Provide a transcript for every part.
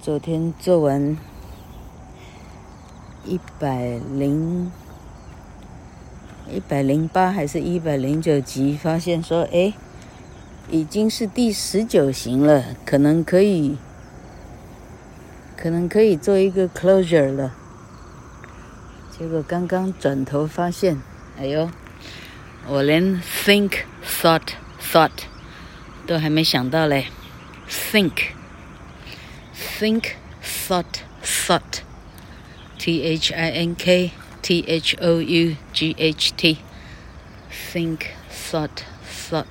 昨天做完108還是109集，發現說，已經是第19型了，可能可以做一個 closure 了。結果剛剛轉頭發現，我連 think thought 都還沒想到嘞。think thought THINK THOUGHT think thought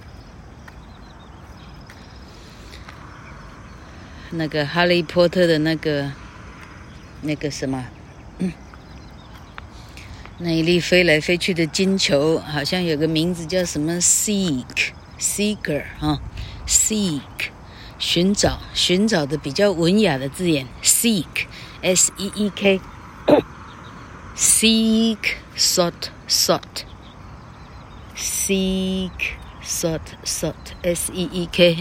那個哈利波特的那個什麼那一粒飛來飛去的金球，好像有個名字叫什麼 seeker seek 尋找的比較文雅的字眼 seek SEEK seek sought seek sought SEEK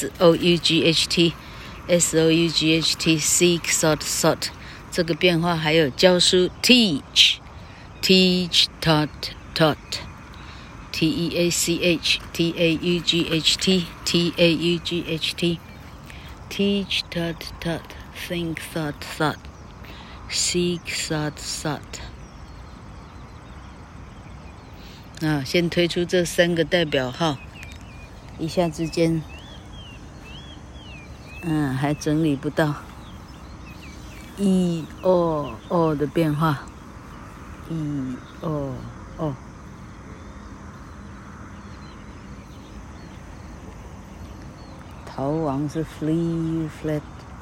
SOUGHT seek sought 這個變化還有教書 teach taught TEACH TAUGHT teach taught think thought seek sought 先推出這3個代表號，一下之間還整理不到 o 的變化 o 逃亡是 flee fled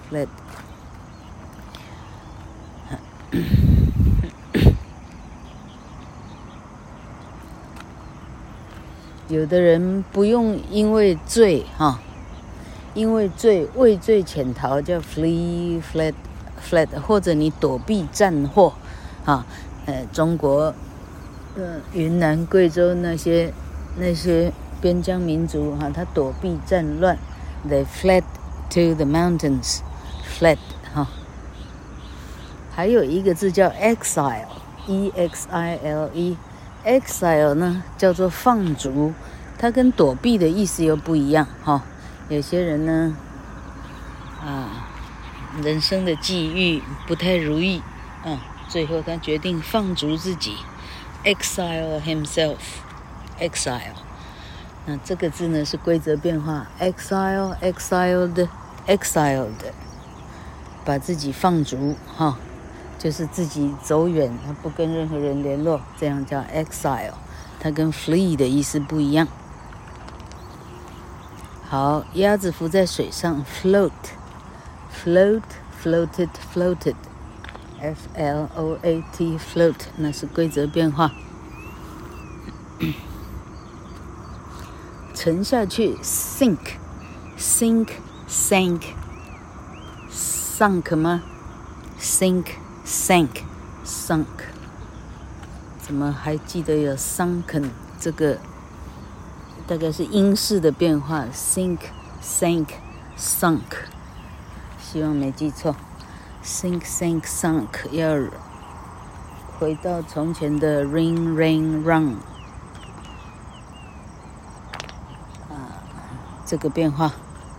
有的人不用因為罪畏罪潛逃叫 flee fled 或者你躲避戰禍中國雲南貴州那些邊疆民族他躲避戰亂 they fled to the mountains fled 還有一個字叫 exile EXILE exile 呢叫做放逐，它跟躲避的意思又不一樣有些人呢人生的際遇不太如意最後他決定放逐自己 exile himself exile 那這個字呢是規則變化 exiled 把自己放逐就是自己走遠，他不跟任何人聯絡，這樣叫 exile， 它跟 flee 的意思不一樣。好，鴨子浮在水上 floated float float 那是規則變化。沉下去 sank嗎 sank 怎麼還記得有 sunken 這個大概是英式的變化 sink sunk 希望沒記錯 sunk 要回到從前的 rain run 這個變化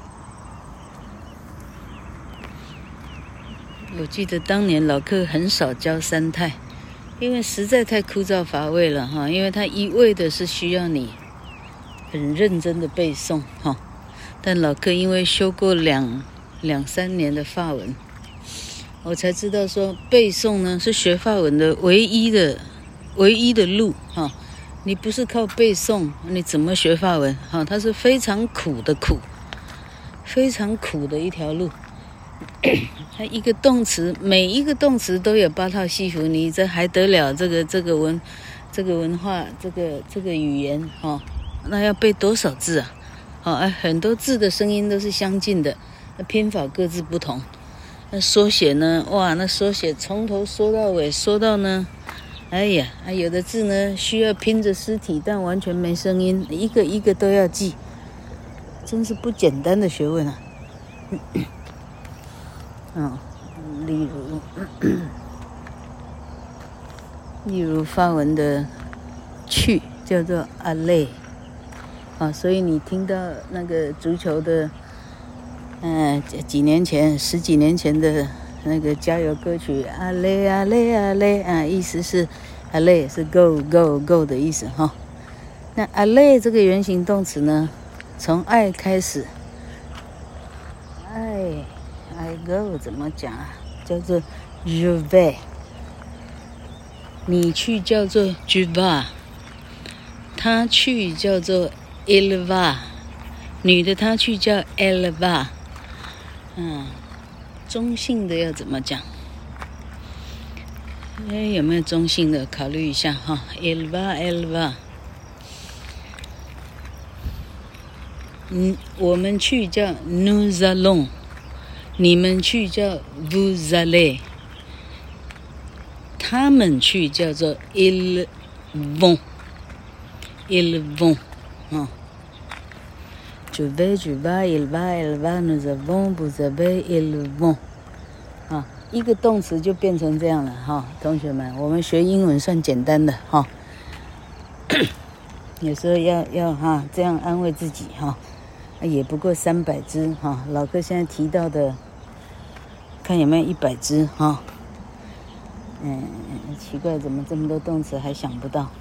我記得當年老課很少教三態，因為實在太枯燥乏味了因為它一味的是需要你很認真的背誦但老課因為修過兩三年的法文，我才知道說背誦呢是學法文的唯一的路你不是靠背誦你怎麼學法文它是非常苦的非常苦的一條路它一個動詞，每一個動詞都有8套戲服，你這還得了這個文化，這個語言那要背多少字很多字的聲音都是相近的，那拼法各自不同。那縮寫呢？哇，那縮寫從頭縮到尾，縮到呢，有的字呢需要拼着屍體，但完全沒聲音，一個一個都要記，真是不簡單的學問啊。 例如法文的去叫做 aller 所以你聽到那個足球的十幾年前的那個加油歌曲 aller aller aller 意思是 aller 是 go go go 的意思那 aller 這個原形動詞呢，從愛開始I go 怎麼講啊？叫做 je vais， 你去叫做 tu vas， 他去叫做 il va， 女的她去叫 elle va。中性的要怎麼講？有沒有中性的？考慮一下il va elle va。我們去叫 nous allons， 你們去叫 vous allez， 他們去叫做 ils vont， ils vont je vais tu vas il va elle va nous avons vous avez ils vont 一個動詞就變成這樣了同學們，我們學英文算簡單的有時候要這樣安慰自己也不過300隻老哥現在提到的，看有沒有100隻奇怪，怎麼這麼多動詞還想不到？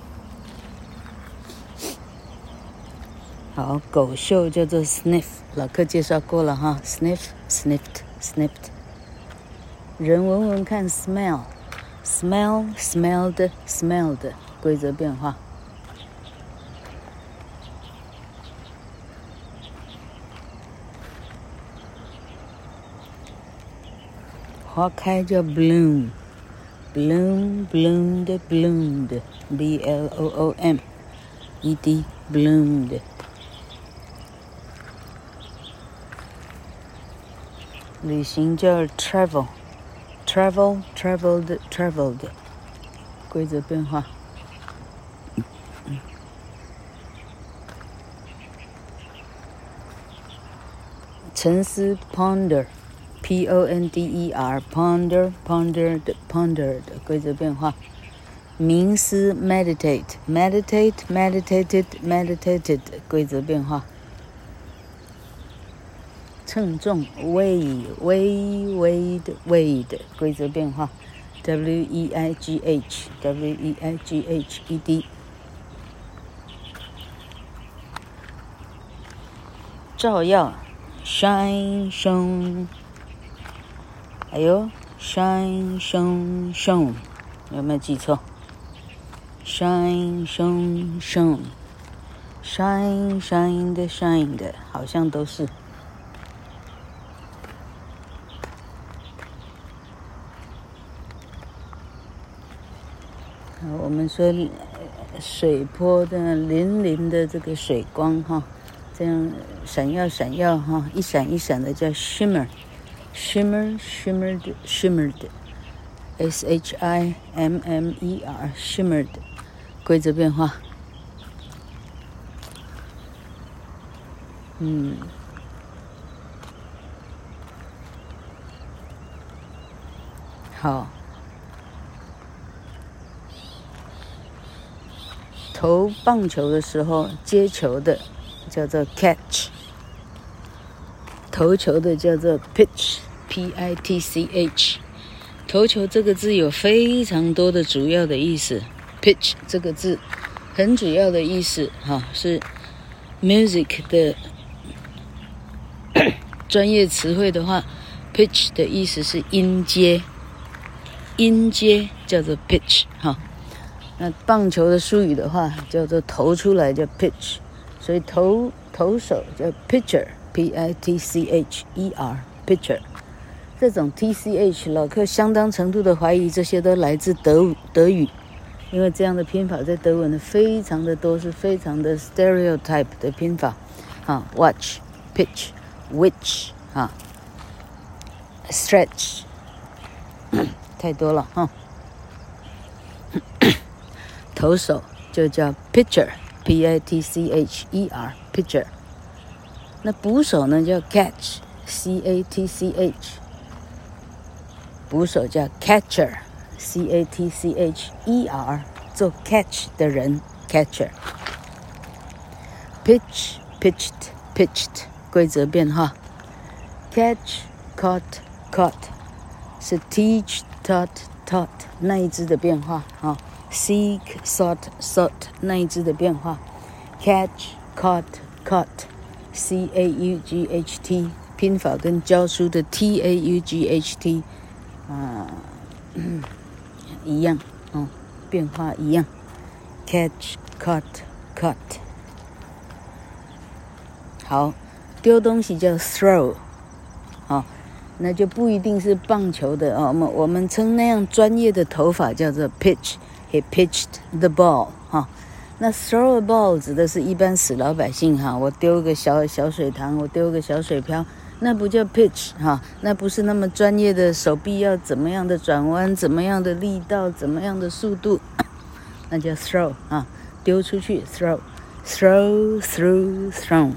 好，狗嗅叫做 sniff， 老課介紹過了sniff sniffed sniffed。人聞聞看 smell smell smelled smelled， 規則變化。花開叫 bloom bloom bloomed bloomed bloom ed bloomed。旅行叫 travel travel traveled traveled， 規則變化。沉思 ponder ponder ponder pondered pondered， 規則變化。冥思 meditate meditate meditated meditated， 規則變化。稱重 weighed weighed weighed， 規則變化。weigh weighed。照耀 shine shone， 還有 shine shone shone， 有沒有記錯？ shine shone shone shine shined shined， 好像都是。我們說水波的粼粼的這個水光這樣閃耀閃耀一閃一閃的叫 shimmer shimmer shimmered shimmered shimmer shimmered， 規則變化。好，投棒球的時候接球的叫做 catch， 投球的叫做 pitch pitch。 投球這個字有非常多的主要的意思， pitch 這個字很主要的意思是 music 的專業詞彙的話， pitch 的意思是音階，音階叫做 pitch 那棒球的術語的話叫做投出來叫 pitch， 所以投手叫 pitcher pitcher pitcher。 這種 tch 老客相當程度的懷疑這些都來自德語，因為這樣的拼法在德文的非常的多，是非常的 stereotype 的拼法watch pitch which stretch 太多了投手就叫 pitcher pitcher pitcher。 那捕手呢叫 catch catch。 捕手叫 catcher，C-A-T-C-H-E-R， 做 catch 的人 catcher。pitch、pitched、pitched 規則變化。catch、caught、caught 是 teach、taught、taught 那一支的變化啊。seek、sought、sought 那一支的變化。catch、caught、caught C-A-U-G-H-T 拼法跟教書的 T-A-U-G-H-T 一樣哦，變化一樣。catch、caught、caught 好，丟東西叫 throw 哦，那就不一定是棒球的哦，我們稱那樣專業的投法叫做 pitch。He pitched the ball 哈。那 throw a ball 指的是一般死老百姓哈，我丟個小水塘，我丟個小水漂，那不叫 pitch 哈，那不是那麼專業的，手臂要怎麼樣的轉彎，怎麼樣的力道，怎麼樣的速度，那叫 throw 啊，丟出去 throw through thrown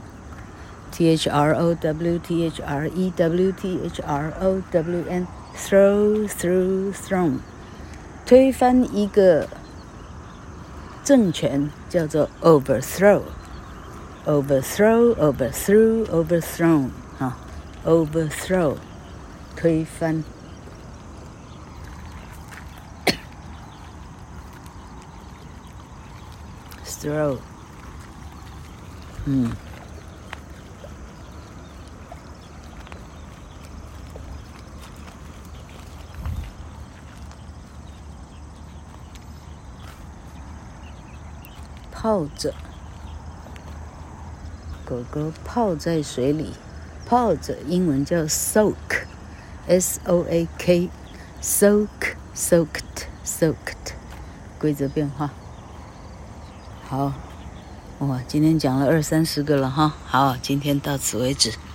T-H-R-O-W-T-H-R-E-W-T-H-R-O-W-N throw through thrown 推翻一個政權叫做 overthrow overthrown 啊 overthrow 推翻throw 泡着，狗狗泡在水裡，泡着英文叫 soak S-O-A-K soaked 規則變化。好，哇，今天講了20-30個了哈，好，今天到此為止。